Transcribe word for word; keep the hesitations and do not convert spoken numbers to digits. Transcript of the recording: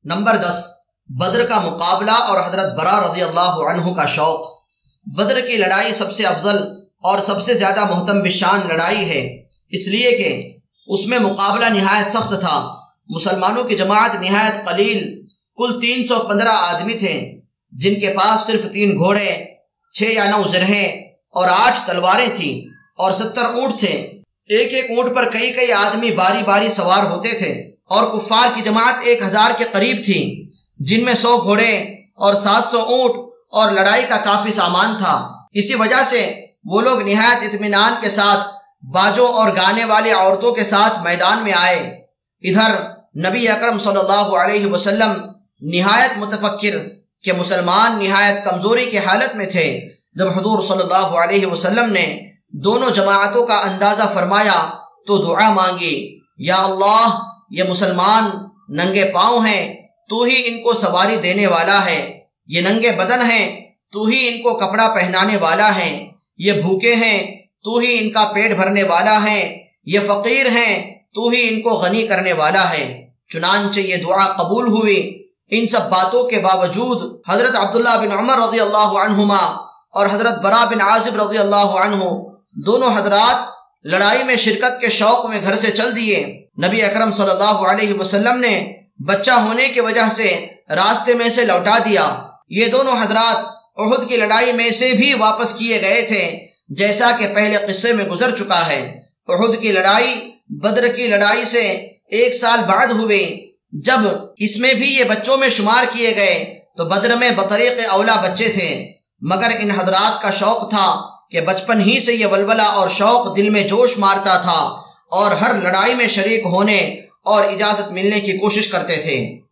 Number دس، بدر کا مقابلہ اور حضرت برا رضی اللہ عنہ کا شوق۔ بدر کی لڑائی سب سے افضل اور سب سے زیادہ محتم بشان لڑائی ہے، اس لیے کہ اس میں مقابلہ نہایت سخت تھا۔ مسلمانوں کی جماعت نہایت قلیل، کل تین سو پندرہ آدمی تھے، جن کے پاس صرف تین گھوڑے، چھ یا نو زرہیں اور آٹھ تلواریں تھیں، اور ستر اونٹ تھے۔ ایک ایک اونٹ پر کئی کئی آدمی باری باری سوار ہوتے تھے، اور کفار کی جماعت ایک ہزار کے قریب تھی، جن میں سو گھوڑے اور سات سو اونٹ اور لڑائی کا کافی سامان تھا۔ اسی وجہ سے وہ لوگ نہایت اطمینان کے ساتھ باجوں اور گانے والی عورتوں کے ساتھ میدان میں آئے۔ ادھر نبی اکرم صلی اللہ علیہ وسلم نہایت متفکر کہ مسلمان نہایت کمزوری کی حالت میں تھے، جب حضور صلی اللہ علیہ وسلم نے دونوں جماعتوں کا اندازہ فرمایا تو دعا مانگی، یا اللہ، یہ مسلمان ننگے پاؤں ہیں، تو ہی ان کو سواری دینے والا ہے، یہ ننگے بدن ہیں، تو ہی ان کو کپڑا پہنانے والا ہے، یہ بھوکے ہیں، تو ہی ان کا پیٹ بھرنے والا ہے، یہ فقیر ہیں، تو ہی ان کو غنی کرنے والا ہے۔ چنانچہ یہ دعا قبول ہوئی۔ ان سب باتوں کے باوجود حضرت عبداللہ بن عمر رضی اللہ عنہما اور حضرت برا بن عازب رضی اللہ عنہ دونوں حضرات لڑائی میں شرکت کے شوق میں گھر سے چل دیے۔ نبی اکرم صلی اللہ علیہ وسلم نے بچہ ہونے کی وجہ سے راستے میں سے لوٹا دیا۔ یہ دونوں حضرات احد کی لڑائی میں سے بھی واپس کیے گئے تھے، جیسا کہ پہلے قصے میں گزر چکا ہے۔ احد کی لڑائی بدر کی لڑائی سے ایک سال بعد ہوئی۔ جب اس میں بھی یہ بچوں میں شمار کیے گئے تو بدر میں بطریق اولا بچے تھے، مگر ان حضرات کا شوق تھا کہ بچپن ہی سے یہ ولولہ اور شوق دل میں جوش مارتا تھا، اور ہر لڑائی میں شریک ہونے اور اجازت ملنے کی کوشش کرتے تھے۔